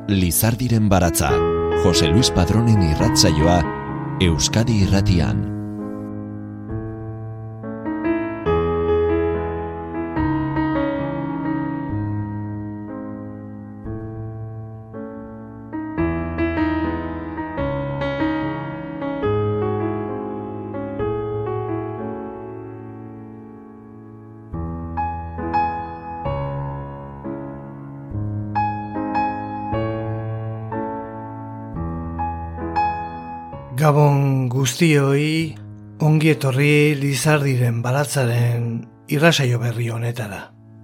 Lizardiren baratza, Jose Luis Padronen irratsaioa, Euskadi Irratian. Gabon guztioi, ongi etorri Lizardiren baratzaren irratsaio berri honetara.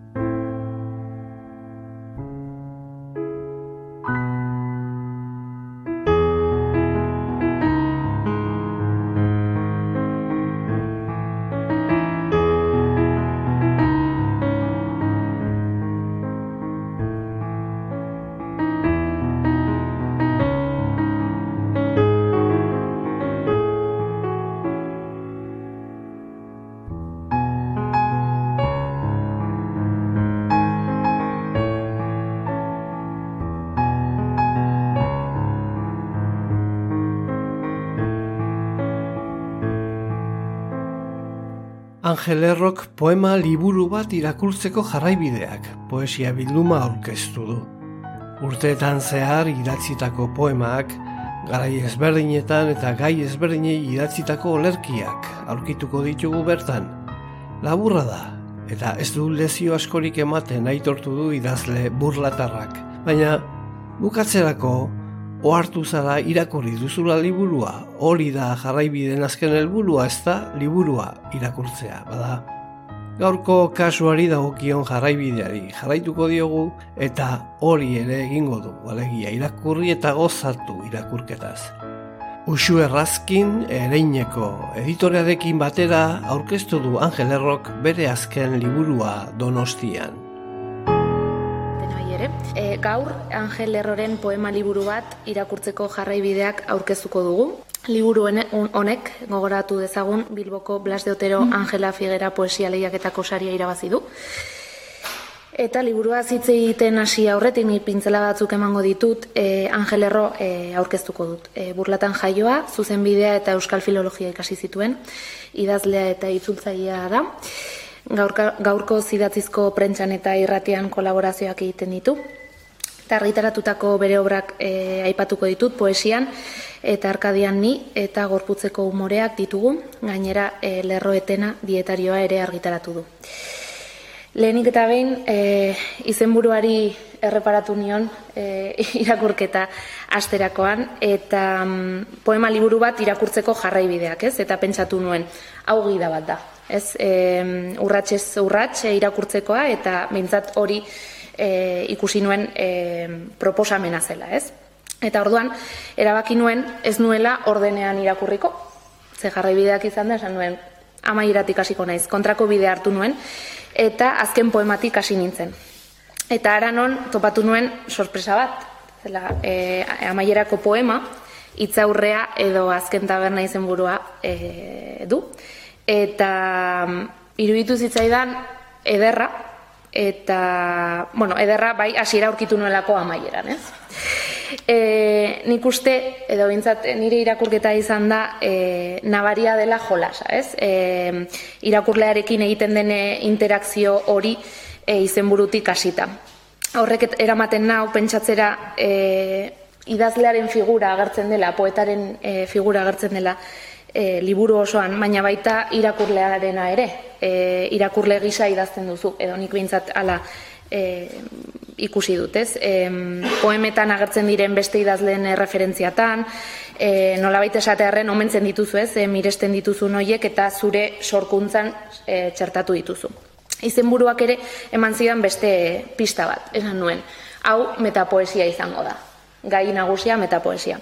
Angel Errok poema liburu bat irakurtzeko jarraibideak poesia bilduma aurkeztu du. Urteetan zehar idatzitako poemak, garai ezberdinetan eta gai ezberdinei idatzitako olerkiak aurkituko ditugu bertan. Laburra da, eta ez du lezio askorik ematen aitortu du idazle burlatarrak. Baina bukatzerako ohartu zara irakurri duzula liburua, hori da jarraibideen azken helburua, ez da liburua irakurtzea, bada. Gaurko kasuari dagokion jarraibideari jarraituko diogu eta hori ere egingo du, alegia irakurri eta gozatu irakurketaz. Uxue Errazkin Ereineko editorearekin batera aurkeztu du Angel Errok bere azken liburua Donostian. Gaur Angel Erroren poema liburu bat irakurtzeko jarraibideak aurkeztuko dugu. Liburu honek, gogoratu dezagun, Bilboko Blas de Otero Angela Figuera poesia lehiaketako saria irabazi du. Eta liburua hitz egiten hasi aurretik ni pintzela batzuk emango ditut, Angel Erro aurkeztuko dut. Burlatan jaioa, zuzenbidea eta euskal filologia ikasi zituen, idazlea eta itzultzailea da. Gaurko idatzizko prentsan eta irratian kolaborazioak egiten ditu. Eta argitaratutako bere obrak aipatuko ditut poesian, eta Arkadian ni eta gorputzeko umoreak ditugu, gainera lerroetena dietarioa ere argitaratu du. Lehenik eta behin, izenburuari erreparatu nion irakurketa asterakoan, eta poema liburu bat irakurtzeko jarraibideak, ez? Eta pentsatu nuen, hau gida bat da. Ez, urratsez urrats irakurtzekoa, eta behintzat hori ikusi nuen proposamena zela, ez? Eta orduan, erabaki nuen ez nuela ordenean irakurriko. Ze jarraibideak izan da, esan nuen, amaieratik hasiko naiz, kontrako bidea hartu nuen, eta azken poematik hasi nintzen. Eta haranon topatu nuen sorpresa bat, zela, amaierako poema, hitzaurrea edo azken taberna izenburua du. Eta iruditu zitzaidan ederra, eta, ederra bai hasiera aurkitu nuelako amaieran, ez? Nik uste, edo bintzat nire irakurketa izan da, nabaria dela jolasa, ez? Irakurlearekin egiten den interakzio hori izenburutik hasita. Horrek eramaten nau pentsatzera idazlearen figura agertzen dela, poetaren figura agertzen dela, liburu osoan, baina baita irakurlearena ere, irakurle gisa idazten duzu, edo nik behintzat ala ikusi dut, ez? Poemetan agertzen diren beste idazleen referentziatan, nolabait esatearren omentzen dituzu, ez? Miresten dituzu noiek eta zure sorkuntzan txertatu dituzu. Izenburuak ere eman zidan beste pista bat, esan nuen. Hau metapoesia izango da, gai nagusia metapoesia.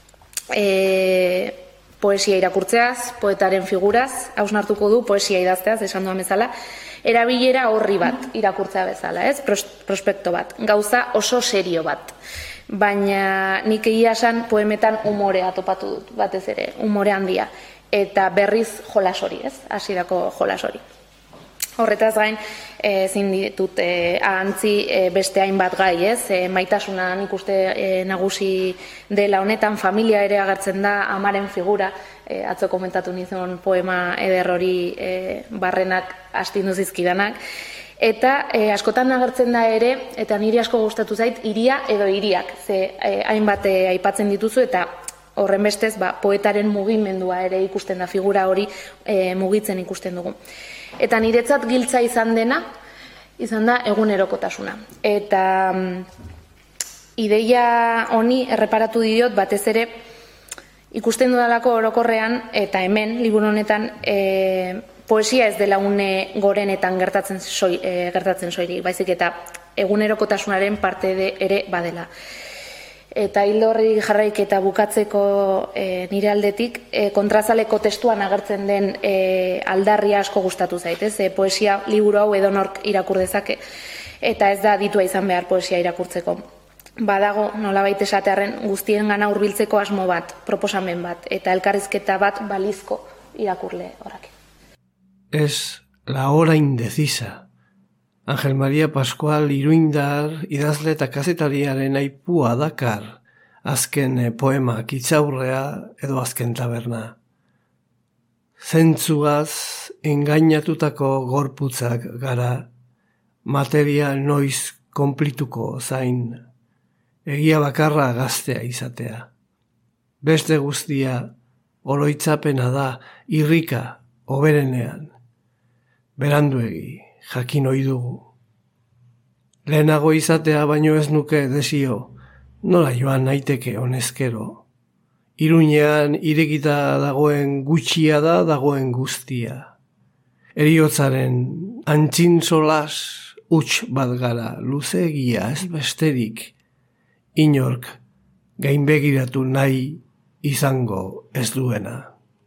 Poesia irakurtzeaz, poetaren figuraz, hausnartuko du poesia idazteaz, esan duan bezala, erabilera horri bat irakurtzea bezala, ez? Prospekto bat, gauza oso serio bat. Baina nik egia esan poemetan umorea topatu dut, batez ere, umore handia. Eta berriz jolas hori, ez? Hasierako jolas hori. Horretaz gain, ezin ditut ahantzi beste hainbat gai, ez? Maitasuna nik uste nagusi dela honetan, familia ere agertzen da, amaren figura, atzo komentatu nizun poema eder hori barrenak astindu zizkidanak, eta askotan agertzen da ere, eta niri asko gustatu zait, hiria edo hiriak, ze hainbat aipatzen dituzu, eta horren bestez, poetaren mugimendua ere ikusten da, figura hori mugitzen ikusten dugu. Eta niretzat giltza izan da egunerokotasuna. Eta ideia honi erreparatu diot batez ere ikusten dudalako orokorrean, eta hemen, liburu honetan, poesia ez dela une gorenetan gertatzen soilik, baizik eta egunerokotasunaren parte ere badela. Eta hildo horri jarraik eta bukatzeko nire aldetik, kontrazaleko testuan agertzen den aldarria asko gustatu zait, ez? Poesia liburu hau edonork irakur dezake, eta ez da aditua izan behar poesia irakurtzeko. Badago, nolabait esatearren, guztiengana hurbiltzeko asmo bat, proposamen bat, eta elkarrizketa bat balizko irakurle horrek. Es la hora indecisa. Ángel María Pascual iruindar idazle eta kazetariaren aipua dakar, azken poema kitzaurrea edo azken taberna. Zentzuaz engainatutako gorputzak gara, materia noiz konplituko zain, egia bakarra gaztea izatea. Beste guztia oroitzapena da irrika oberenean, beranduegi. Jakin ohi dugu. Lehenago izatea baino ez nuke desio, nola joan naiteke honezkero. Iruñean irekita dagoen gutxia da dagoen guztia. Heriotzaren antzin solas huts bat gara, luzeegia ez besterik, inork gainbegiratu nahi izango ez duena.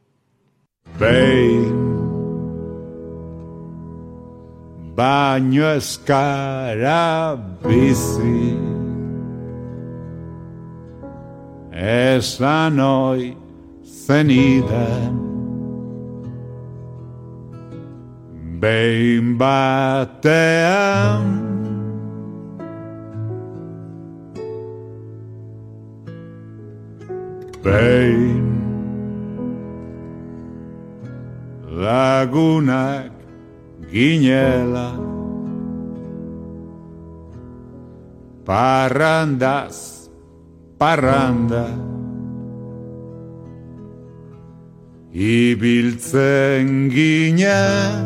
Baino ez gara bizi, esan oi zeniden, behin batean, behin lagunak ginela, parrandaz parranda, ibiltzen ginen,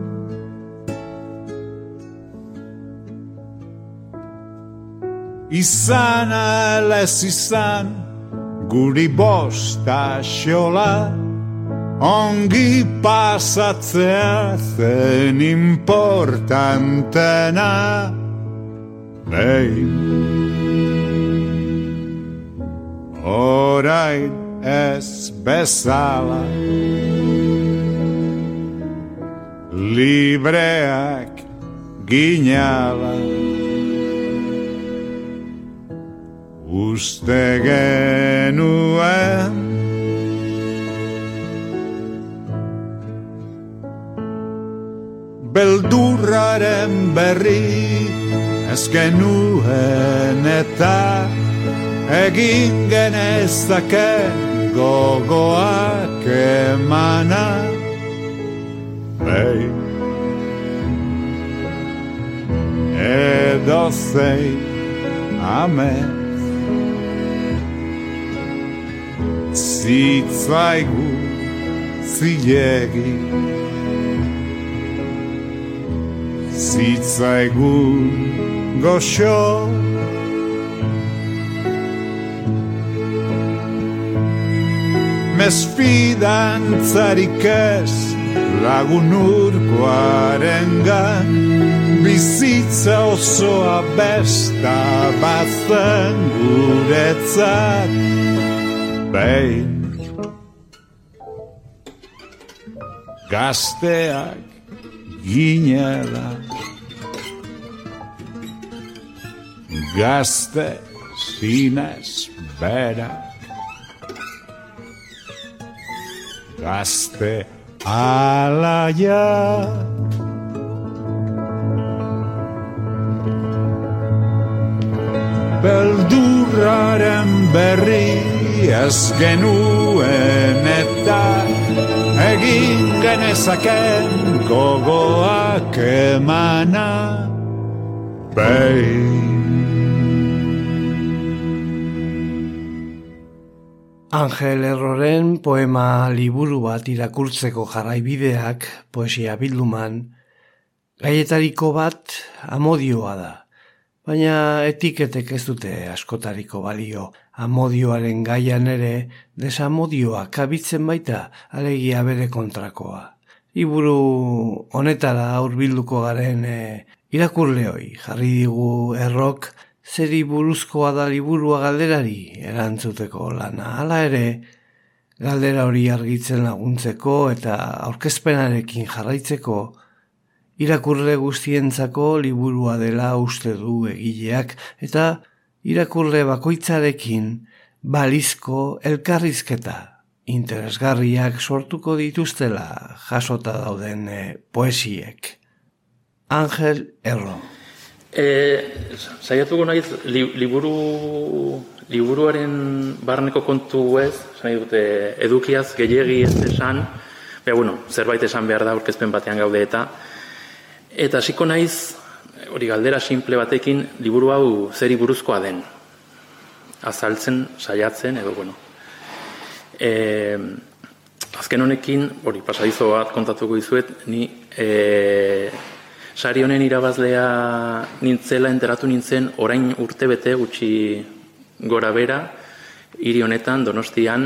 izan ala ez izan, guri bosta xola, ongi pasatzea zen importantena. Behin, orain ez bezala, libreak ginala, uste genuen, beldurraren berri ez genuen eta egin genezaken gogoak emana. Behin edozein amets zitzaigu zilegi, zitzaigun goxo, mesfidantzarik ez lagun urkoarengan, bizitza osoa besta bazen guretzat. Behin gazteak ginela, gazte zinez berak, gazte alaia, beldurraren berri ez genuen eta egin genezaken gogoak emana behin. Angel Erroren poema liburu bat irakurtzeko jarraibideak poesia bilduman, gaietariko bat amodioa da. Baina etiketek ez dute askotariko balio. Amodioaren gaian ere desamodioa kabitzen baita, alegia bere kontrakoa. Liburu honetara hurbilduko garen irakurleoi jarri digu Errok zeri buruzkoa da liburua galderari erantzuteko lana. Hala ere, galdera hori argitzen laguntzeko eta aurkezpenarekin jarraitzeko, irakurle guztientzako liburua dela uste du egileak eta irakurle bakoitzarekin balizko elkarrizketa interesgarriak sortuko dituztela jasota dauden poesiek. Angel Erro. Saiatuko naiz liburuaren barneko kontu ez, nahi dute edukiaz gehiegi ez esan, zerbait esan behar da aurkezpen batean gaude eta hasiko naiz hori galdera simple batekin liburu hau zeri buruzkoa den azaltzen, saiatzen edo azken honekin hori pasadizo bat kontatuko dizuet ni sari honen irabazlea nintzela enteratu nintzen orain urtebete gutxi gora bera hiri honetan Donostian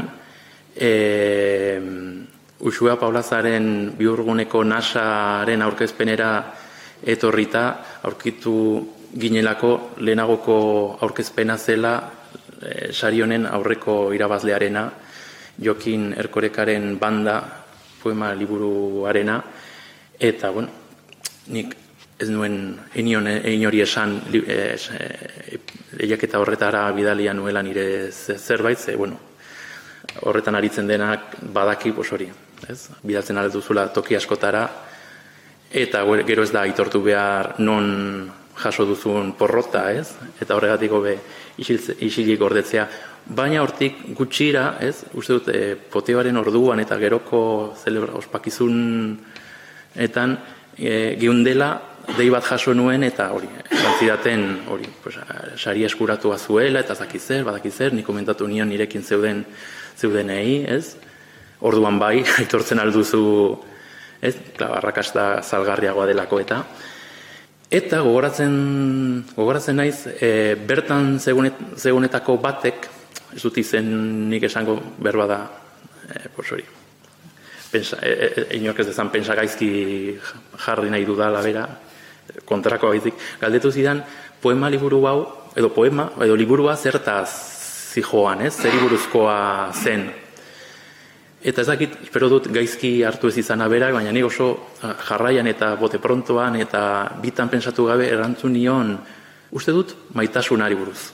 Uxua Paulazaren Biurguneko nasaren aurkezpenera etorrita aurkitu ginelako lehenagoko aurkezpena zela sari honen aurreko irabazlearena Jokin Erkorekaren banda poema liburuarena eta nik ez nuen inori esan lehiaketa horretara bidalia nuela nire zerbait, horretan aritzen denak badaki hori, bidaltzen alduzula toki askotara, eta gero ez da aitortu behar non jaso duzun porrota, eta horregatik hobe isilik gordetzea. Baina hortik gutxira, uste dut, poteoaren orduan eta geroko ospakizunetan geundela, dei bat jaso nuen eta hori, zantzidaten hori, sari eskuratua zuela eta badakizer, nik komentatu nion nirekin zeudenei, orduan bai, aitortzen alduzu, arrakasta zalgarriagoa delako eta gogoratzen naiz, bertan zegunetako batek, ez dut izen nik esango berba da, hori, inork ez dezan pensa gaizki jarri nahi dudala bera, kontrako baizik, galdetu zidan poema liburu hau, edo liburua zertaz zijoan, zeri buruzkoa zen. Eta ez dakit, espero dut gaizki hartu ez izana berak, baina nik oso jarraian eta bote prontoan eta bitan pensatu gabe erantzun nion, uste dut maitasunari buruz.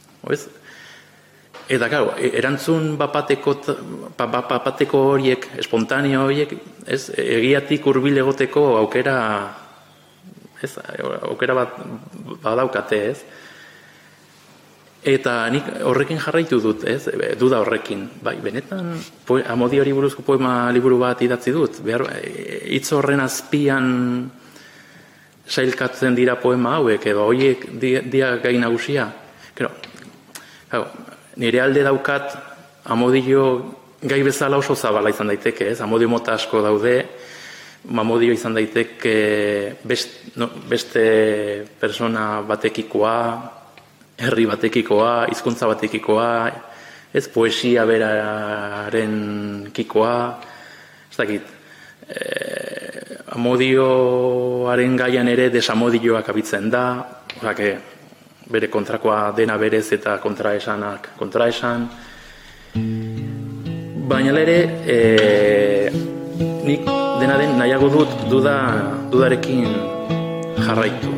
Eta, claro, erantzun bapateko horiek, espontaneo horiek, egiatik hurbil egoteko aukera bat badaukate, Eta nik horrekin jarraitu dut, duda horrekin. Bai, benetan, Amodiori buruzko poema liburu bat idatzi dut. Hitz horren azpian sailkatzen dira poema hauek, edo horiek dia gai nagusia. Nire alde daukat Amodio gai bezala oso zabala izan daiteke, Amodio mota asko daude, Amodio izan daiteke beste persona batekikoa, herri batekikoa, hizkuntza batekikoa, poesia beraren kikoa, ez dakit. Amodioaren gaian ere desamodioak abitzen da, bere kontrakoa dena berez eta kontraesan. Baina ere, nik dena den nahiago dut dudarekin jarraitu.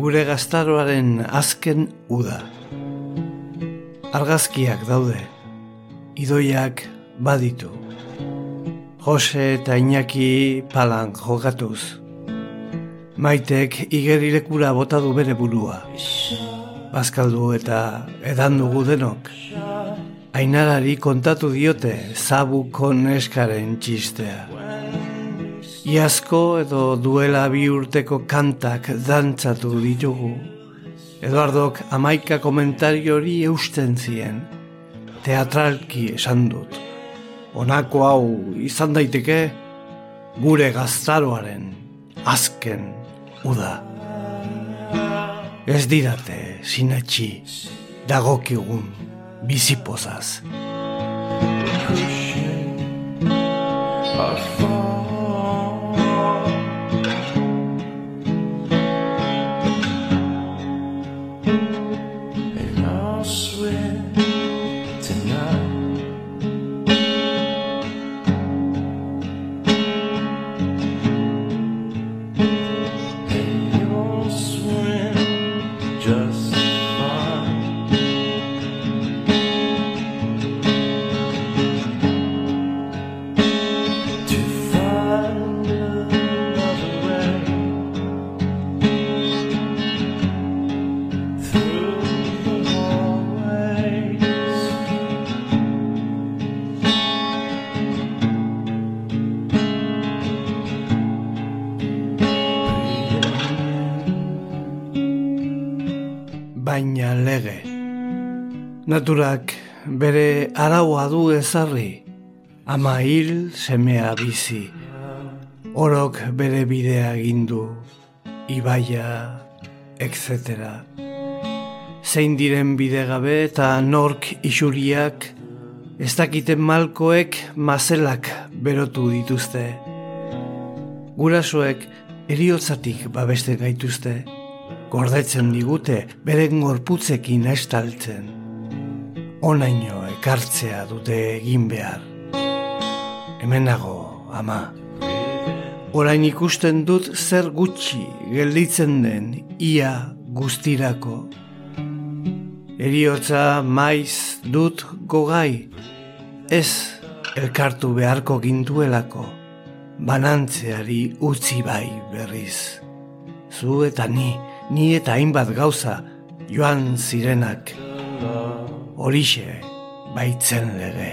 gure gaztaroaren azken uda. Argazkiak daude, idoiak baditu. Jose eta Iñaki palan jokatuz. Maitek igerilekura bota du bere burua. Bazkaldu eta edan dugu denok. Ainarari kontatu diote zabuko neskaren txistea. Iazko edo duela 2 urteko kantak dantzatu ditugu. Eduardok 11 komentario hori eusten zien. Teatralki esan dut. Honako hau izan daiteke gure gaztaroaren azken uda. Ez didate sinetxi dagokigun bizipozaz. Baina lege. Naturak bere araua du ezarri, ama hil semea bizi. Orok bere bidea gindu, ibaia, etc. Zein diren bidegabe eta nork isuriak, ez dakiten malkoek mazelak berotu dituzte. Gurasoek heriotzatik babesten gaituzte. Gordetzen digute beren gorputzekin estaltzen. Onaino ekartzea dute egin behar. Hemen nago, ama. Orain ikusten dut zer gutxi gelditzen den ia guztirako. Heriotza maiz dut gogai, ez elkartu beharko gintuelako, banantzeari utzi bai berriz. Zu eta ni eta hainbat gauza joan zirenak, horixe baitzen lege.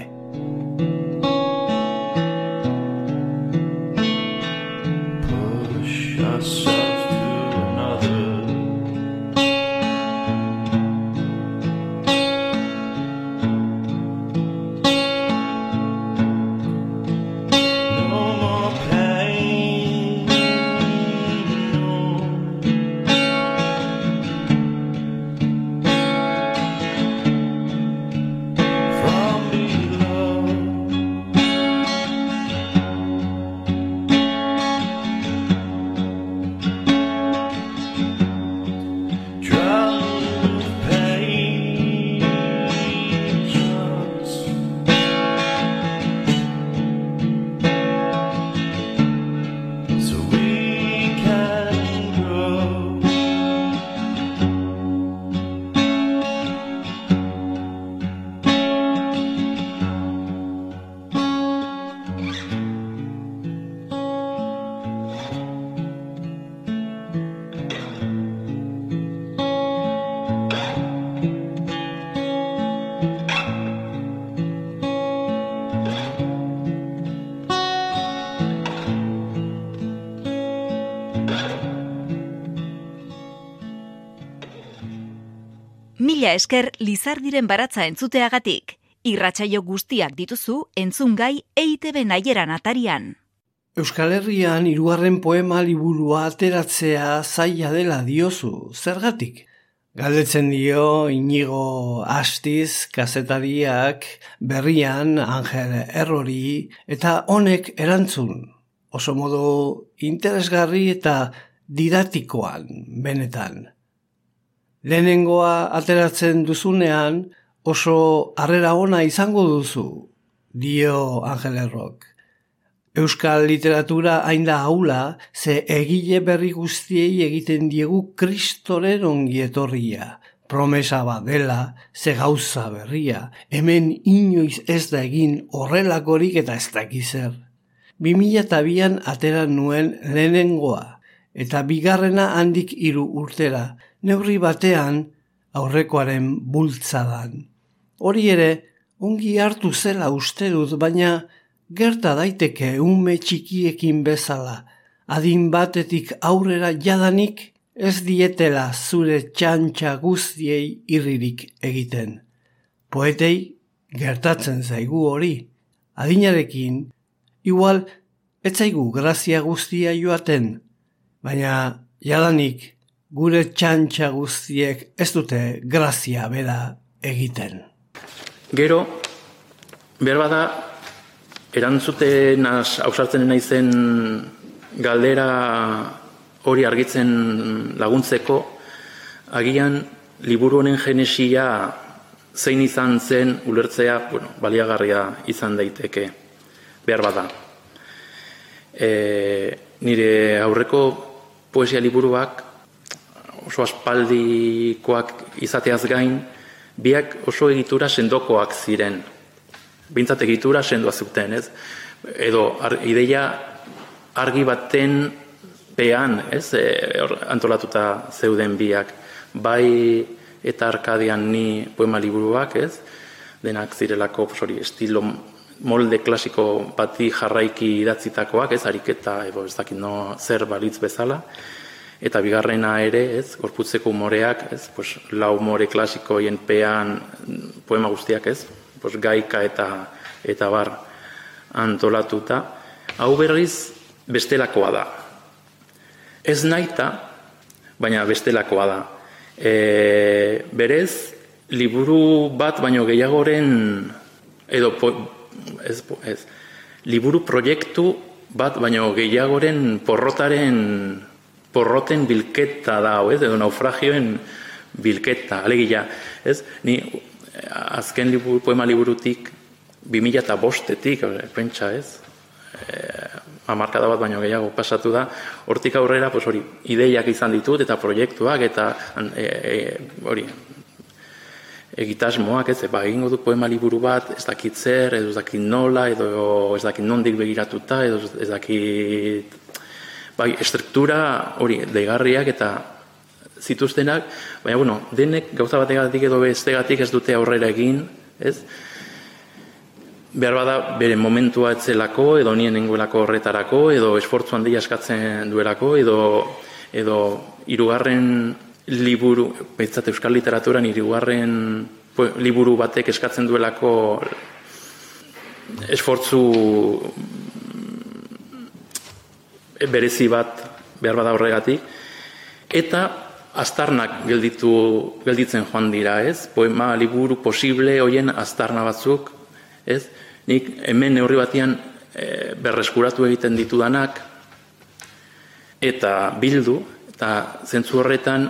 Mila esker Lizardiren baratza entzuteagatik. Irratsaio guztiak dituzu entzungai EITB Naieran atarian. Euskal Herrian 3. poema liburua ateratzea zaila dela diozu, zergatik? Galdetzen dio Inigo Astiz kazetariak berrian Angel Errori eta honek erantzun. Oso modu interesgarri eta didatikoan benetan. Lehenengoa ateratzen duzunean oso harrera ona izango duzu, dio Angel Errok. Euskal literatura hain da haula, ze egile berri guztiei egiten diegu Kristoren ongietorria. Promesa bat dela, ze gauza berria, hemen inoiz ez da egin horrelakorik eta ez dakizer. 2002an atera nuen lehenengoa, eta bigarrena handik 3 urtera, neurri batean aurrekoaren bultzadan. Hori ere, ongi hartu zela uste dut, baina gerta daiteke ume txikiekin bezala, adin batetik aurrera jadanik ez dietela zure txantxa guztiei irririk egiten. Poetei gertatzen zaigu hori, adinarekin, igual ez zaigu grazia guztia joaten, baina jadanik gure txantxa guztiek ez dute grazia bera egiten. Gero, berbada, erantzuten ausartzen naizen galdera hori argitzen laguntzeko, agian liburu honen genesia zein izan zen ulertzea, baliagarria izan daiteke, behar bada. Nire aurreko poesia liburuak oso aspaldikoak izateaz gain, biak oso egitura sendokoak ziren. Bintzat egitura sendoa zuten, ez? Edo ideia argi baten pean, ez? Antolatuta zeuden biak. Bai eta Arkadian ni poema liburuak, ez? Denak zirelako estilo molde klasiko bati jarraiki idatzitakoak, ez? Ariketa, ez dakit zer balitz bezala. Eta bigarrena ere, ez? Gorputzeko umoreak, ez? Lau umore klasikoien pean poema guztiak, ez? Gaika eta bar antolatuta. Hau berriz bestelakoa da. Ez naita, baina bestelakoa da. Berez, liburu bat baino gehiagoren, edo liburu proiektu bat baino gehiagoren porroten bilketa da, edo naufragioen bilketa, alegia. Ni azken poema liburutik 2005-etik, pentsa ez, hamarkada bat baino gehiago pasatu da, hortik aurrera hori ideiak izan ditut eta proiektuak eta hori egitasmoak, ez, egingo dut poema liburu bat, ez dakit zer, edo ez dakit nola, edo ez dakit nondik begiratuta, edo ez dakit estruktura hori deigarriak eta zituztenak, baina, denek gauza bategatik edo bestegatik ez dute aurrera egin, ez? Behar bada bere momentua etzelako, edo nien nengoelako horretarako, edo esfortzu handia eskatzen duelako, edo hirugarren liburu, behintzat euskal literaturan hirugarren liburu batek eskatzen duelako esfortzu berezi bat behar bada horregatik, eta aztarnak gelditzen joan dira, ez? Poema liburu posible hoien aztarna batzuk, ez? Nik hemen neurri batian berreskuratu egiten ditudanak eta bildu, eta zentzu horretan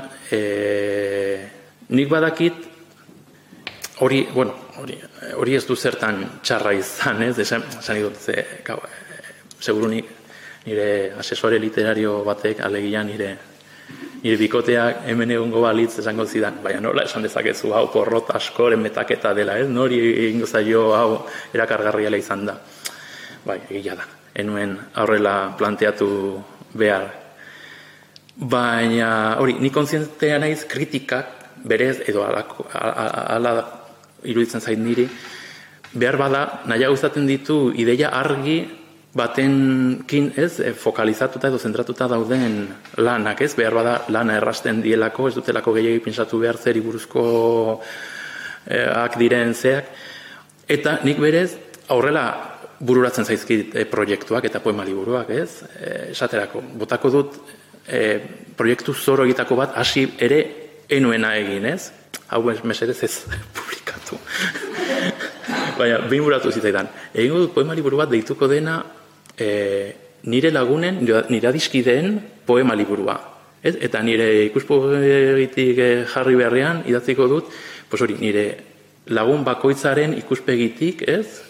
nik badakit hori ez du zertan txarra izan, ez? Esan dut, segurunik nire asesore literario batek, alegia nire bikoteak hemen egongo balitz esango zidan, baina nola esan dezakezu hau porrot askoren metaketa dela, ez? Nori egingo zaio hau erakargarriala izan da. Egia da, enuen aurrela planteatu behar. Baina, hori, ni kontzientea naiz kritikak berez, edo ala iruditzen zait niri, behar bada, nahiago izaten ditu ideia argi batenkin, ez, fokalizatuta edo zentratuta dauden lanak, ez, behar bada lana errasten dielako, ez dutelako gehiagi pentsatu behar zeri buruzkoak diren zeak, eta nik berez aurrela bururatzen zaizkit proiektuak eta poema liburuak, ez, esaterako, botako dut proiektu zoro egitako bat hasi ere enuena egin, ez, hau mesedez ez publikatu. Baina, behin buratu zitzaidan, egingo dut poema liburu bat deituko dena nire lagunen, nire adiskideen poema liburua. Eta nire ikuspegitik jarri beharrean idatziko dut, nire lagun bakoitzaren ikuspegitik, ez?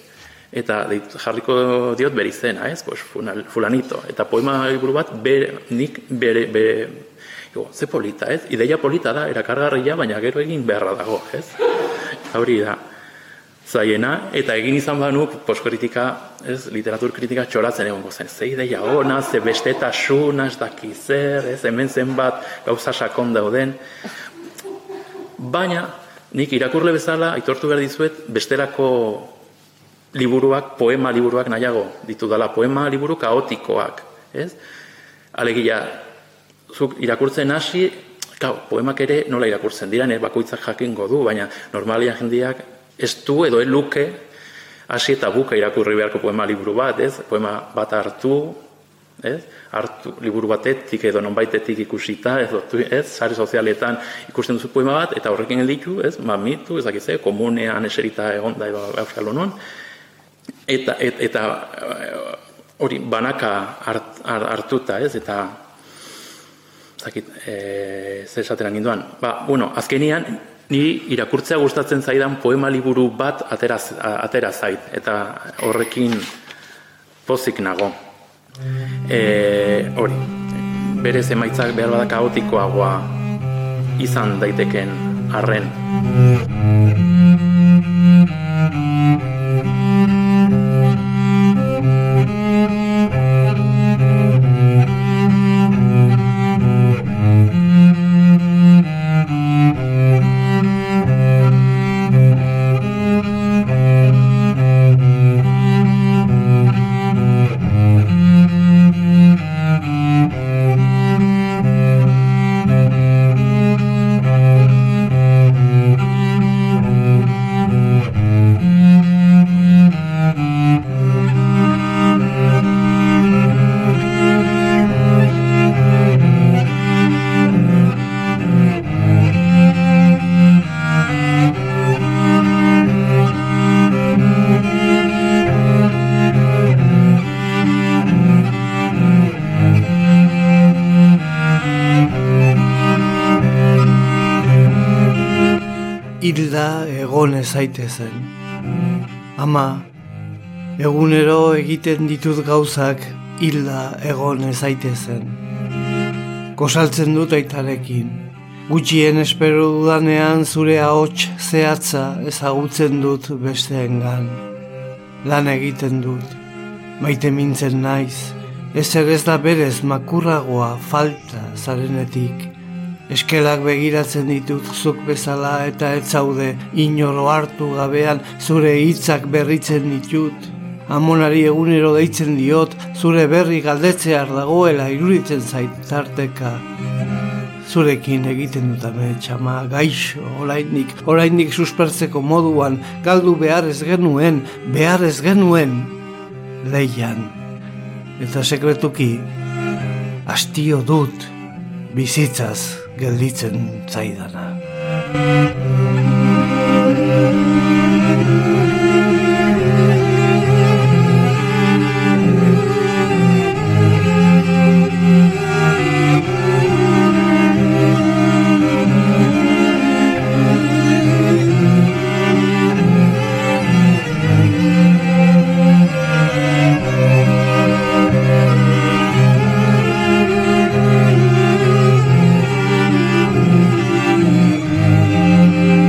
Eta jarriko diot bere izena, ez? Pues fulanito. Eta poema liburu bat nik bere ze polita, ez? Ideia polita da, erakargarria, baina gero egin beharra dago, ez? Hori da zaiena, eta egin izan banuk postkritika, ez, literatur kritika txoratzen egongo zen. Ze ideia ona, ze bestetasuna, ez daki zer, ez, hemen zenbat gauza sakon dauden. Baina, nik irakurle bezala, aitortu behar dizuet, bestelako liburuak, poema liburuak nahiago ditudala, poema liburu kaotikoak, ez? Alegia, zuk irakurtzen hasi, poemak ere nola irakurtzen dira, bakoitzak jakingo du, baina normalia jendeak ez du edo luke hasi eta buka irakurri beharko poema liburu bat, ez? Poema bat hartu, ez? Hartu liburu batetik edo nonbaitetik ikusita, ez? Sare sozialetan ikusten duzu poema bat, eta horrekin gelditu, ez? Mamitu, ezakize, komunean eserita egonda edo Euskal Honon, eta hori banaka hartuta, ez? Eta zer esateran ginduan. Azkenian, niri irakurtzea gustatzen zaidan poema liburu bat atera zait, eta horrekin pozik nago. Hori, berez emaitzak behar bada kaotikoagoa izan daiteken arren. Hilda egon ezaitezen. Ama, egunero egiten ditut gauzak hilda egon ezaitezen. Kosaltzen dut aitarekin. Gutxien espero dudanean zure ahots zehatza ezagutzen dut besteengan. Lan egiten dut. Maite mintzen naiz. Ezer ez da berez makurragoa falta zarenetik. Eskelak begiratzen ditut zuk bezala eta ez zaude inoro hartu gabean zure hitzak berritzen ditut. Amonari egunero deitzen diot zure berri galdetzear dagoela iruditzen zait tarteka. Zurekin egiten dut ametsama gaixo, oraindik suspertzeko moduan galdu behar ez genuen leian. Eta sekretuki hastio dut bizitzaz gelditzen zaidana.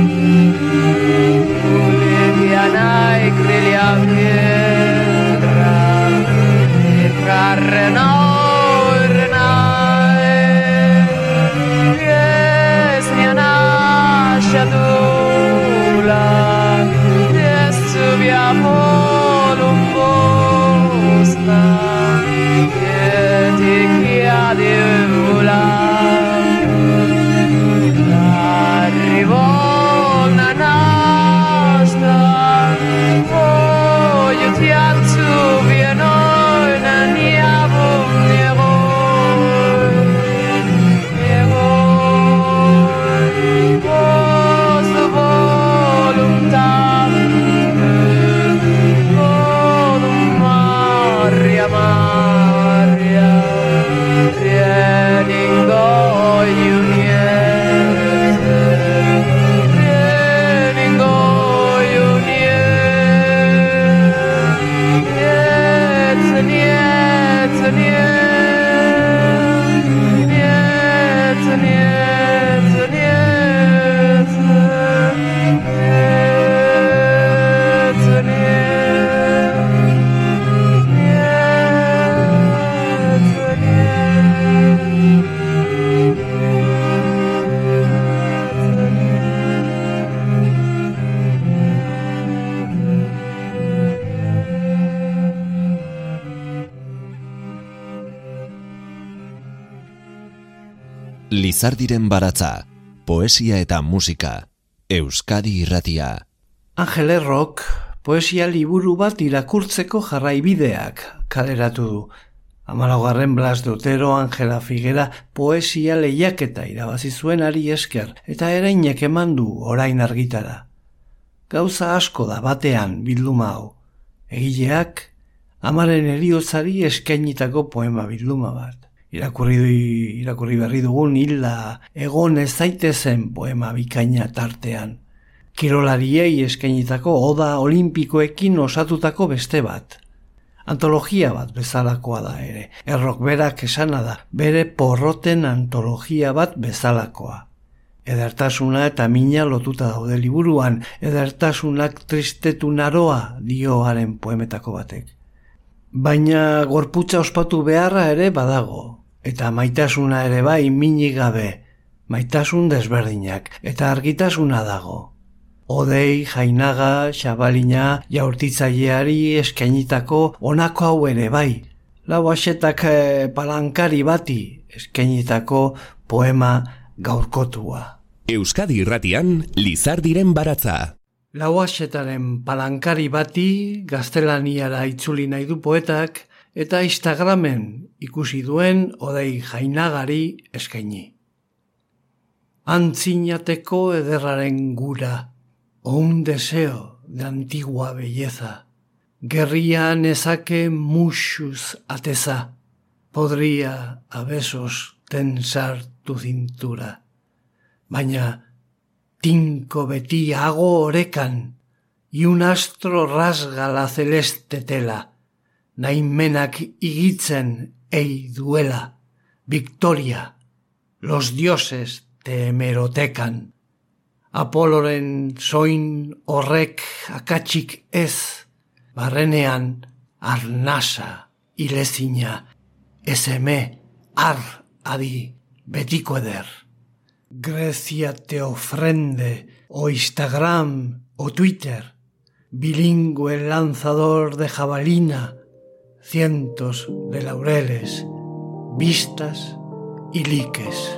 Lizardiren baratza, poesia eta musika, Euskadi Irratia. Angel Errok poesia liburu bat irakurtzeko jarraibideak kaleratu du. 14. Blas de Otero Angela Figuera poesia lehiaketa irabazi zuenari esker eta erainek eman du orain argitara. Gauza asko da batean bilduma hau. Egileak amaren heriotzari eskainitako poema bilduma bat. Irakurri berri dugun hilda egon ez daitezen poema bikaina tartean. Kirolariei eskainitako oda olimpikoekin osatutako beste bat. Antologia bat bezalakoa da ere. Errok berak esana da, bere porroten antologia bat bezalakoa. Edertasuna eta mina lotuta daude liburuan, edertasunak tristetu naroa dioaren poemetako batek. Baina gorputza ospatu beharra ere badago, eta maitasuna ere bai minik gabe, maitasun desberdinak, eta argitasuna dago. Odei, Jainaga, Xabalina, jaurtitzaileari eskainitako honako hau ere bai. Lauaxetak palankari bati eskainitako poema gaurkotua. Euskadi Irratian, Lizardiren baratza. Lauaxetaren palankari bati gaztelaniara itzuli nahi du poetak eta Instagramen ikusi duen Odei Jainagari eskaini. Antzinateko ederraren gura, o un deseo de antigua belleza. Guerría nezake muxuz ateza, podría a besos tensar tu cintura. Baina tinko beti hago orekan, y un astro rasga la celeste tela. Naimenak igitzen ei duela, victoria, los dioses te hemerotekan. Apoloren soin horrek akatsik ez, barrenean arnasa ilezina, eseme ar adi betiko eder. Grecia te ofrende, o Instagram, o Twitter, bilingüe lanzador de jabalina, cientos de laureles, vistas y likes.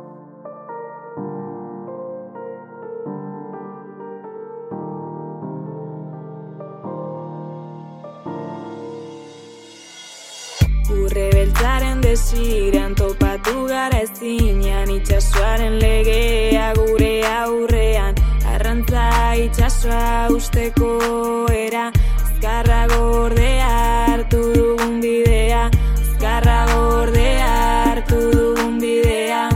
Urrebeltzaren desiran topatu gara ezinean, itxasoaren legea gure aurrean, arrantza itxasoa usteko era, azkarra gordea hartu dugun bidea, azkarra gordea hartu dugun bidea.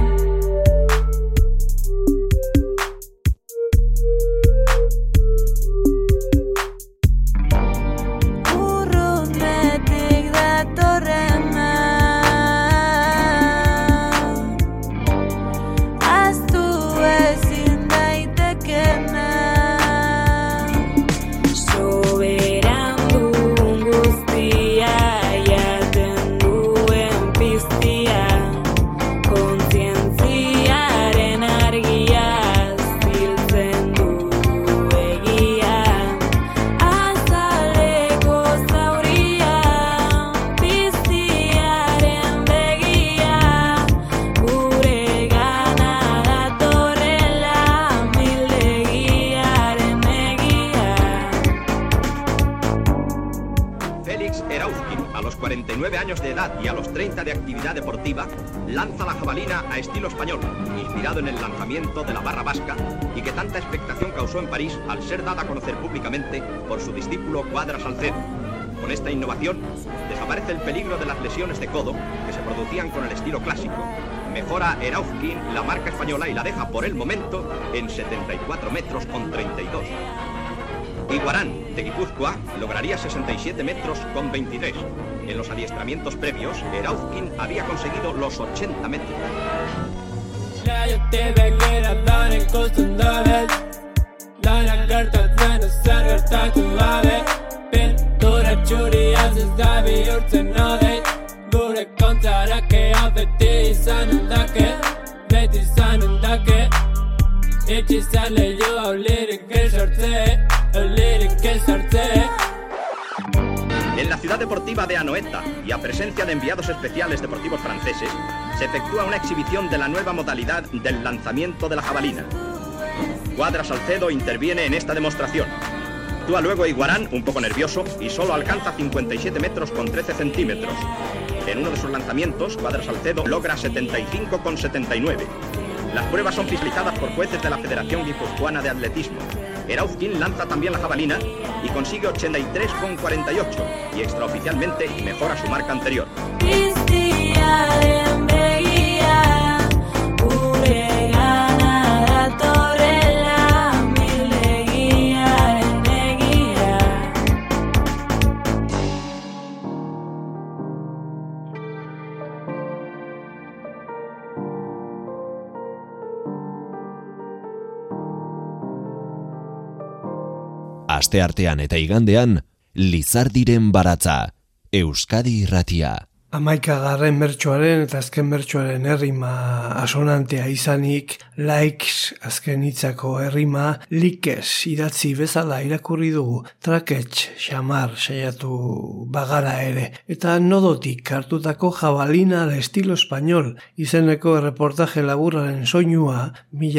Urrunetik datorrena, ahaztu ezin daitekena, soberan guztia jaten duen piztia, kontzientziaren argia ziltzen du egia, azaleko zauria, piztiaren begia, gure gana datorrela mildegiaren egia. Félix Erauzkin, a los 49 años de edad y a los 30 de actividad deportiva, lanza la jabalina a estilo español, inspirado en el lanzamiento de la barra vasca y que tanta expectación causó en París al ser dada a conocer públicamente por su discípulo Cuadra Salcedo. Con esta innovación, desaparece el peligro de las lesiones de codo que se producían con el estilo clásico. Mejora Erauzkin la marca española y la deja por el momento en 74 metros con 32. Iguarán, de Guipúzcoa, lograría 67 metros con 23. En los adiestramientos previos, Erauzkin había conseguido los 80 metros. En la ciudad Ciudad Deportiva de Anoeta y a presencia de enviados especiales deportivos franceses, se efectúa una exhibición de la nueva modalidad del lanzamiento de la jabalina. Cuadra Salcedo interviene en esta demostración. Actúa luego Iguarán, un poco nervioso, y solo alcanza 57 metros con 13 centímetros. En uno de sus lanzamientos, Cuadra Salcedo logra 75,79. Las pruebas son fiscalizadas por jueces de la Federación Guipuzcoana de Atletismo. Erauzkin lanza también la jabalina y consigue 83,48 y extraoficialmente mejora su marca anterior. Asteartean eta igandean, Lizardiren baratza, Euskadi Irratia. 11. bertsoaren eta azken bertsoaren errima asonantea izanik, likes azken hitzako errima likes idatzi bezala irakurri dugu, trakets xamar saiatu bagara ere, eta nodotik hartutako jabalina al estilo español izeneko erreportaje laburraren soinua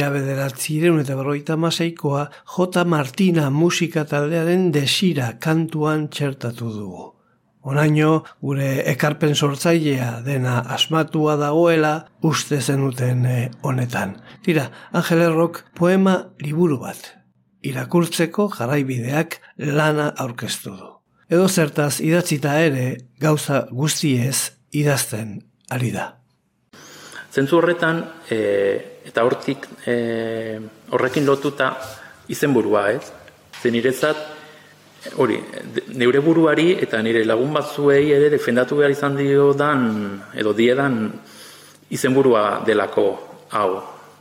1956koa J. Martina musika taldearen desira kantuan txertatu dugu. Onaino, gure ekarpen sortzailea dena asmatua dagoela uste zenuten honetan. Tira, Angel Errok poema liburu bat. Irakurtzeko jarraibideak lana aurkeztu du. Edo zertaz idatzita ere gauza guztiez idazten ari da. Zentzu horretan, eta horrekin lotuta izenburua, ez? Zen niretzat, hori, neure buruari eta nire lagun batzuei ere defendatu behar izan diodan, edo diedan izenburua delako hau.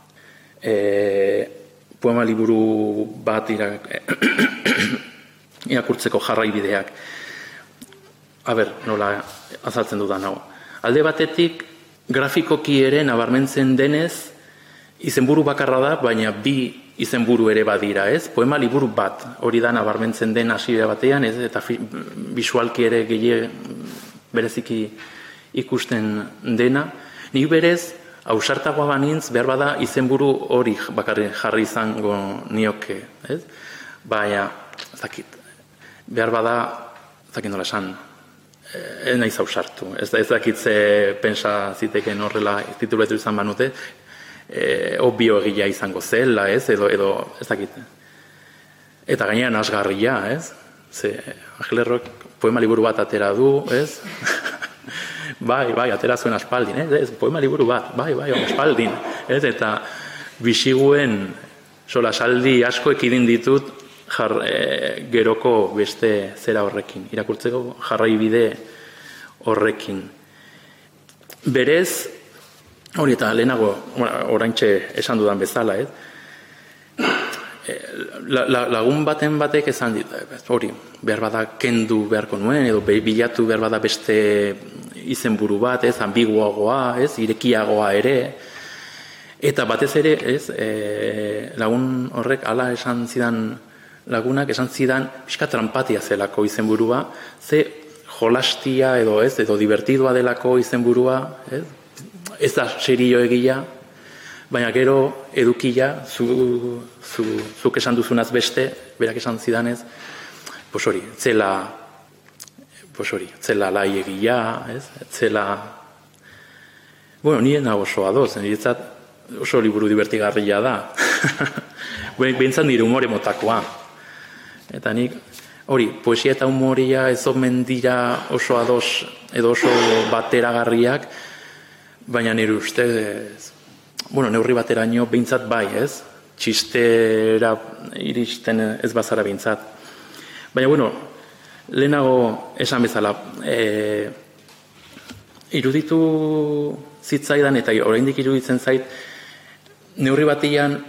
Poema liburu bat irakurtzeko jarraibideak. Nola azaltzen dudan hau. Alde batetik, grafikoki ere nabarmentzen denez, izenburu bakarra da, baina bi izenburu ere badira, ez? Poema liburu bat, hori da nabarmentzen den hasiera batean, ez? Eta bisualki ere bereziki ikusten dena. Nik berez, ausartagoa banintz, behar bada izenburu hori bakarrik jarri izango nioke, ez? Baina, behar bada, nola esan, ez naiz ausartu. Ez dakit ze pensa ziteken horrela tituluetu izan banute, obvio egia izango zela, ez, edo ez dakit. Eta gainean asgarria, ez? Ze Angel Errok poema liburu bat atera du, ez? bai, atera zuen aspaldin, ez? Poema liburu bat, bai, aspaldin, ez? Eta bisiguen solasaldi asko ekidin ditut geroko beste zera horrekin, irakurtzeko jarraibide horrekin. Berez, hori eta lehenago, oraintxe esan dudan bezala, lagun batek esan dit, hori, behar bada kendu beharko nuen, edo bilatu behar bada beste izenburu bat, ambiguagoa, irekiagoa ere, eta batez ere, lagun horrek ala esan zidan, lagunak esan zidan, pixka trampatia zelako izenburua, ze jolastia edo divertidua delako izenburua, ez da serio egia, baina gero edukia, zuk esan duzunaz beste, berak esan zidanez, zela lai egia, zela, nire nago oso adoz, niretzat oso liburu divertigarria da, behintzat nire humore motakoa, eta nik, poesia eta humoria ez omen dira oso adoz, edo oso bateragarriak, baina nire ustez, neurri bateraino behintzat bai, ez? Txistera iristen ez bazara behintzat. Baina, lehenago esan bezala, iruditu zitzaidan eta oraindik iruditzen zait, neurri batian,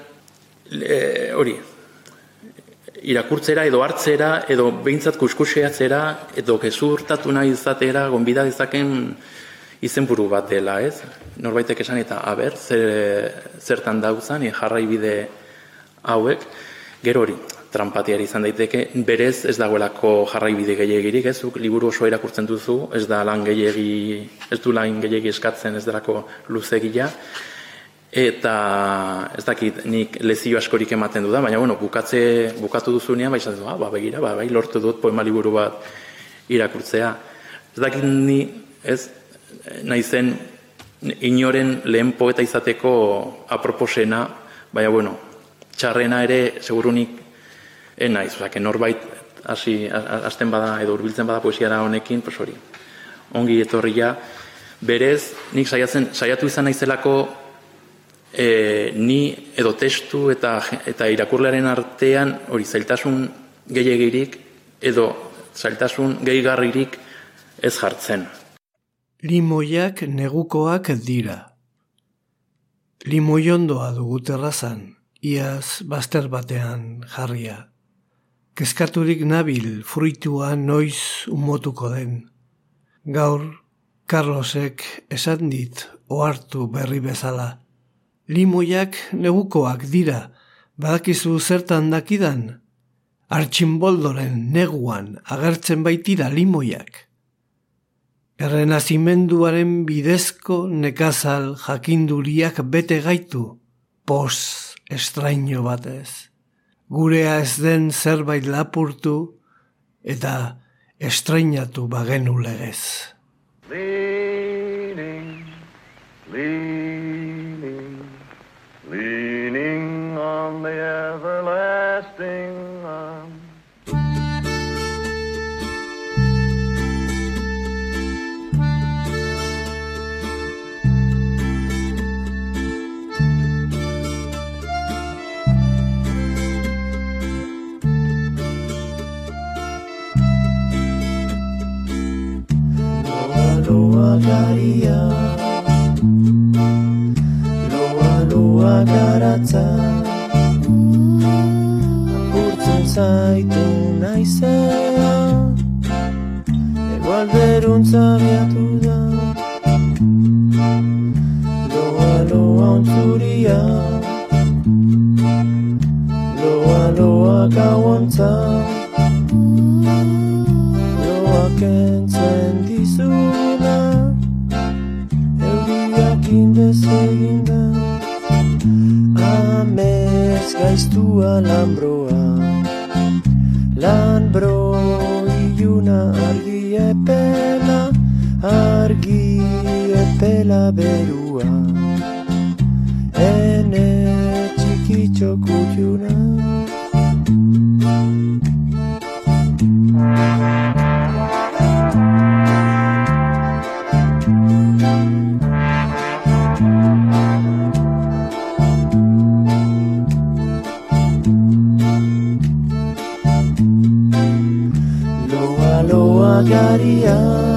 irakurtzera edo hartzera, edo behintzat kuskuseatzera, edo gezurtatu nahi izatera, gonbida dezaken izenburu bat dela, ez? Norbaitek esan eta, zertan dauzan, jarraibide hauek, gero hori, trampatiari izan daiteke, berez ez dagoelako jarraibide gehiagirik, ez? Zuk liburu oso irakurtzen duzu, ez du lan gehiagi eskatzen, ez delako luzegia, eta ez dakit nik lezio askorik ematen du da, baina bukatu duzunean, izan du, begira, bai, lortu dut poema liburu bat irakurtzea. Ez dakit ni, ez, nahi zen inoren lehen poeta izateko aproposena, baina, txarrena ere, segurunik, naiz, norbait hasten bada edo hurbiltzen bada poesiara honekin, hori, ongi etorria, berez, nik saiatu izan naizelako ni edo testu eta irakurlearen artean hori zailtasun gehiagirik edo zailtasun gehigarririk ez jartzen. Limoiak negukoak dira. Limoiondoa dugu terrazan, iaz bazter batean jarria. Kezkaturik nabil fruitua noiz umotuko den. Gaur, Carlosek esan dit ohartu berri bezala. Limoiak negukoak dira, badakizu zertan dakidan? Artxinboldoren neguan agertzen baitira limoiak. Errenazimenduaren bidezko nekazal jakinduriak bete gaitu, pos estraino batez. Gurea ez den zerbait lapurtu eta estrainatu bagenu legez. Leaning, leaning, leaning on the everlasting arm. Loa garia, loa garatza, apurtzen zaitu naizea, egualderuntza biatu da. Loa ontzuria, loa gauantza, loa kentzen dizuna, euriak indez eginda. Amez gaiztua lanbroa, lanbro iluna argi epela berua, ene txikitxo kutxuna. Loa garia,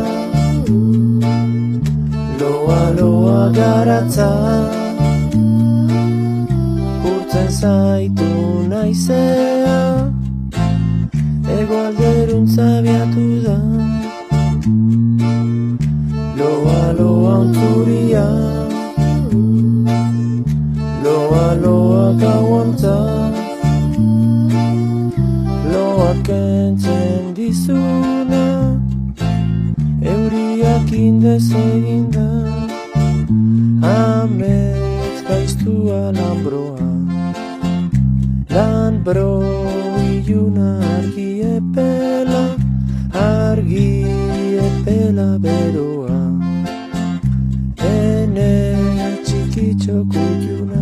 loa garatza, urtzen zaitu naizea, egualderuntza biatu da. Loa ontzuria, loa gauantza, loa kentzen dizuna, euriak indez eginda. Amets gaiztua lanbroa, lanbro iluna argi epela beroa, ene txikitxo kutxuna.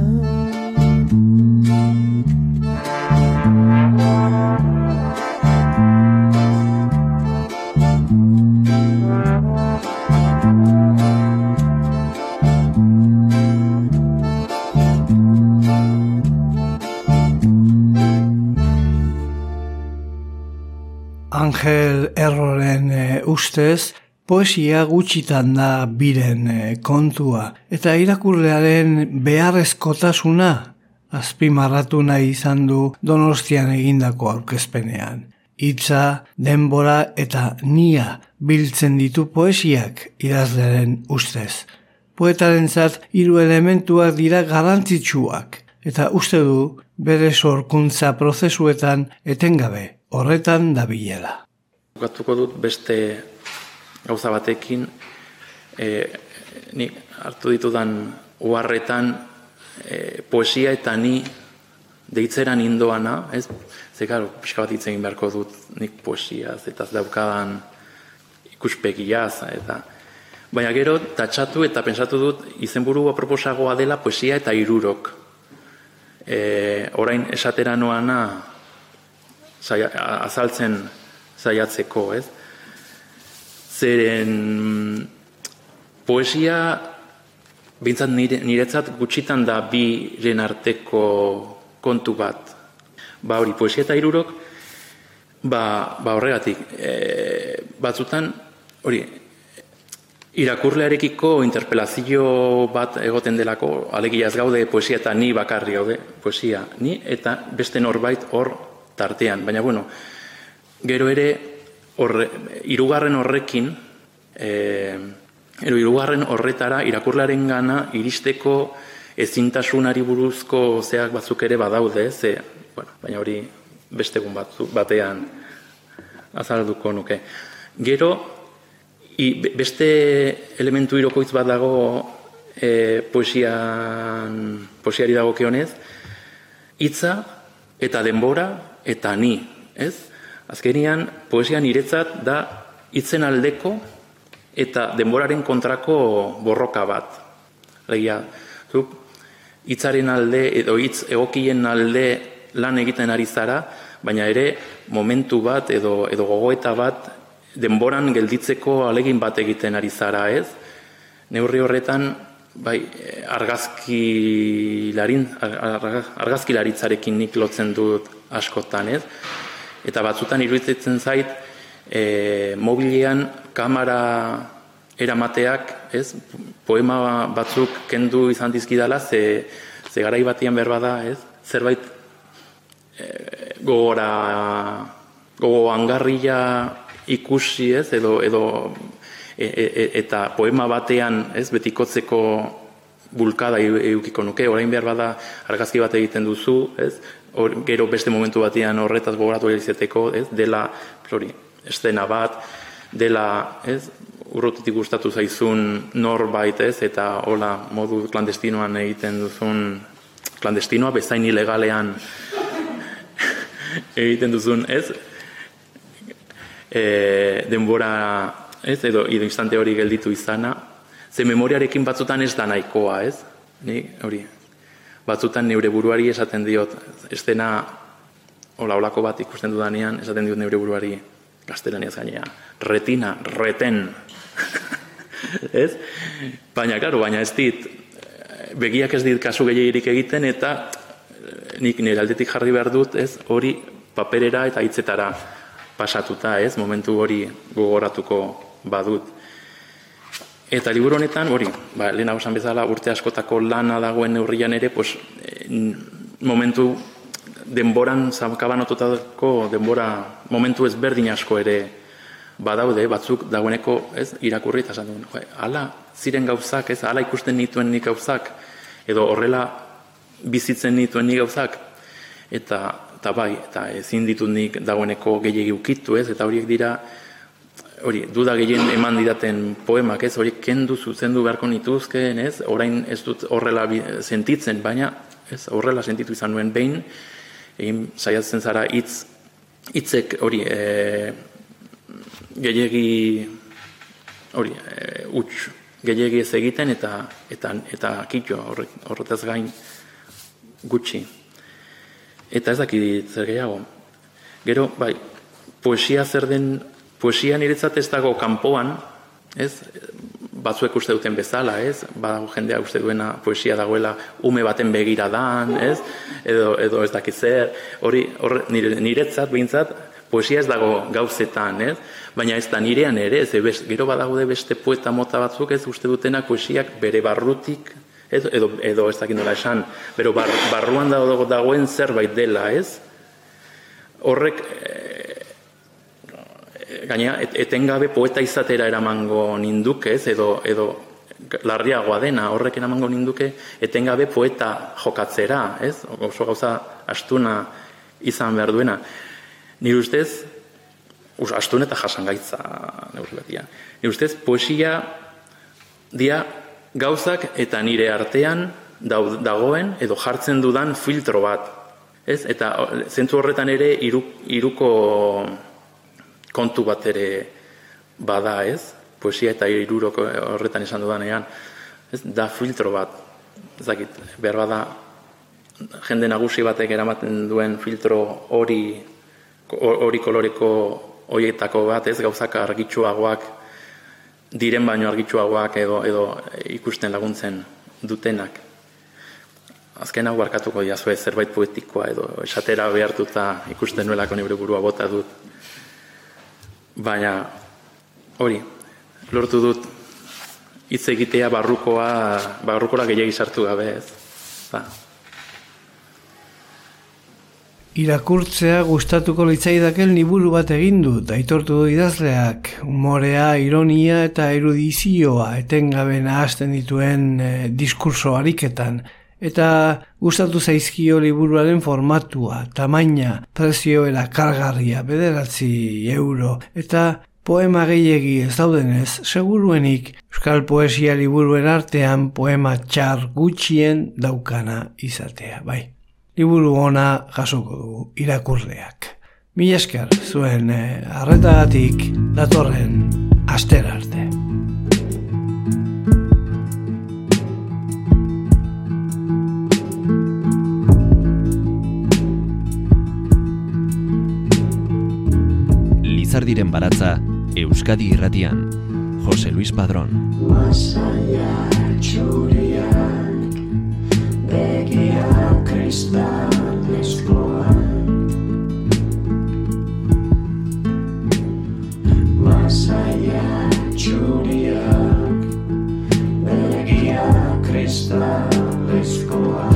Angel Erroren ustez, poesia gutxitan da biren kontua, eta irakurlearen beharrezkotasuna azpimarratu nahi izan du Donostian egindako aurkezpenean. Hitza, denbora eta nia biltzen ditu poesiak idazlearen ustez. Poetarentzat 3 elementuak dira garrantzitsuak: eta uste du bere sorkuntza prozesuetan etengabe horretan dabilela. Bukatuko dut beste gauza batekin, nik hartu ditudan uharretan poesia eta ni deitzeran indoana, ez? Ze, karo, pixka bat hitz egin beharko dut nik poesiaz, eta daukadan ikuspegiaz, eta... Baina gero, tatxatu eta pentsatu dut, izenburu aproposagoa dela poesia eta hirurok. Orain esatera noana azaltzen saiatzeko, ez? Zeren poesia, bintzat niretzat gutxitan da biren arteko kontu bat. Hori, poesia eta hirurok, horregatik, batzutan, hori, irakurlearekiko interpelazio bat egoten delako, alegia ez gaude poesia eta ni bakarri gaude, poesia, ni eta beste norbait hor tartean. Baina, bueno, gero ere, hirugarren horrekin, hirugarren horretara irakurlearen gana iristeko ezintasunari buruzko zeak batzuk ere badaude, baina hori beste egun batean azalduko nuke. Gero, beste elementu hirokoitz bat dago poesiari dagokionez, hitza eta denbora eta ni, ez? Azkenian, poesia niretzat da hitzen aldeko eta denboraren kontrako borroka bat. Legia, hitzaren alde edo hitz egokien alde lan egiten ari zara, baina ere momentu bat edo gogoeta bat denboran gelditzeko alegin bat egiten ari zara, ez? Neurri horretan, argazkilaritzarekin nik lotzen dut askotan, ez? Eta batzutan iruditzen zait, mobilean kamera eramateak, ez? Poema batzuk kendu izan dizkidala, ze garai batian berbada, ez? Zerbait gogo angarria ikusi, ez? Eta poema batean, ez? Betikotzeko bulkada edukiko nuke, orain behar bada argazki bat egiten duzu, ez? Gero beste momentu batean horretaz gogoratu izateteko, ez? Dela, eszena bat, dela, ez? Urrutitik gustatu zaizun norbait, ez? Eta hola, modu klandestinoan egiten duzun, klandestinoa bezain ilegalean egiten duzun, ez? Denbora, ez? Edo instante hori gelditu izana, ze memoriarekin batzutan ez da nahikoa, ez? Hori, batzutan neure buruari esaten diot, eszena holako bat ikusten dudanean, esaten diot neure buruari gaztelaniaz gainea, retina, reten, ez? Baina ez dit, begiak ez dit kasu gehiagirik egiten, eta nik nire aldetik jarri behar dut, ez? Hori paperera eta hitzetara pasatuta, ez? Momentu hori gogoratuko badut. Eta liburu honetan, hori, lehenago esan bezala urte askotako lana dagoen neurrian ere, momentu denboran zakabanotutako denbora momentu ezberdin asko ere badaude, batzuk dagoeneko, ez, irakurri eta esan duen, hala ziren gauzak, ez, hala ikusten nituen nik gauzak, edo horrela bizitzen nituen nik gauzak, eta ezin ditut nik dagoeneko gehiegi ukitu, ez, eta horiek dira, hori, duda gehien eman didaten poemak, ez, horiek kendu zuzendu beharko nituzkeen, ez, orain ez dut horrela sentitzen, baina, ez, horrela sentitu izan nuen behin, egin saiatzen zara hitzek hori gehiegi hori huts gehiegi ez egiten eta kitxo horretaz gain gutxi. Eta ez dakit zer gehiago. Gero, poesia zer den, poesia niretzat ez dago kanpoan, ez? Batzuek uste duten bezala, ez? Badago jendea uste duena poesia dagoela ume baten begiradan, ez? Edo ez dakit zer, niretzat behintzat poesia ez dago gauzetan, ez? Baina ez da nirean ere, gero badaude beste poeta mota batzuk, ez uste dutenak poesiak bere barrutik, edo ez dakit nola esan, bero barruan dagoen zerbait dela, ez? Horrek gaina, etengabe poeta izatera eramango ninduk, ez? Edo larriagoa dena, horrek eramango ninduke etengabe poeta jokatzera, ez? Oso gauza astuna izan behar duena. Nire ustez, astun eta jasangaitza neurri batia. Nire ustez, poesia dia gauzak eta nire artean dagoen edo jartzen dudan filtro bat. Ez? Eta zentzu horretan ere hiruko kontu bat ere bada, ez? Poesia eta hiruroko horretan esan dudanean, ez? Da filtro bat. Ezakit, behar bada jende nagusi batek eramaten duen filtro hori koloreko horietako bat, ez? Gauzak argitsuagoak diren baino argitsuagoak edo ikusten laguntzen dutenak. Azken hau barkatuko diazue zerbait poetikoa edo esatera behartuta ikusten nuelako nire burua bota dut. Baina hori, lortu dut hitz egitea barrukora gehiagi sartu gabe, ez? Irakurtzea gustatuko litzaidaken liburu bat egin dut, aitortu du idazleak, umorea, ironia eta erudizioa etengabe nahasten dituen diskurso ariketan, eta gustatu zaizkio liburuaren formatua, tamaina, prezio erakargarria, 9 euro, eta poema gehiegi ez daudenez, seguruenik euskal poesia liburuen artean poema txar gutxien daukana izatea, bai. Liburu ona jasoko dugu irakurleak. Mila esker zuen arretagatik datorren astera arte. Lizardiren baratza Euskadi Irratian. Jose Luis Padrón. Masaiak txuriak, begiak kristalezkoak. Masaiak txuriak, begiak kristalezkoak.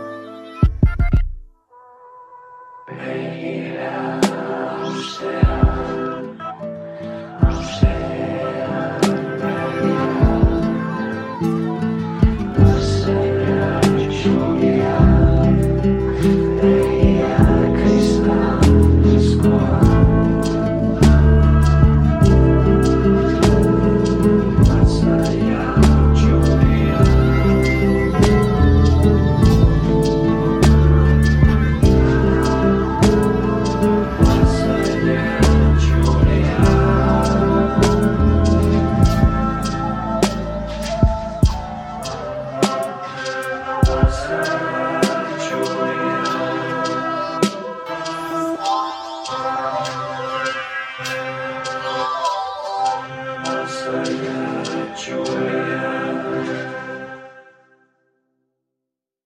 Begira, ustea.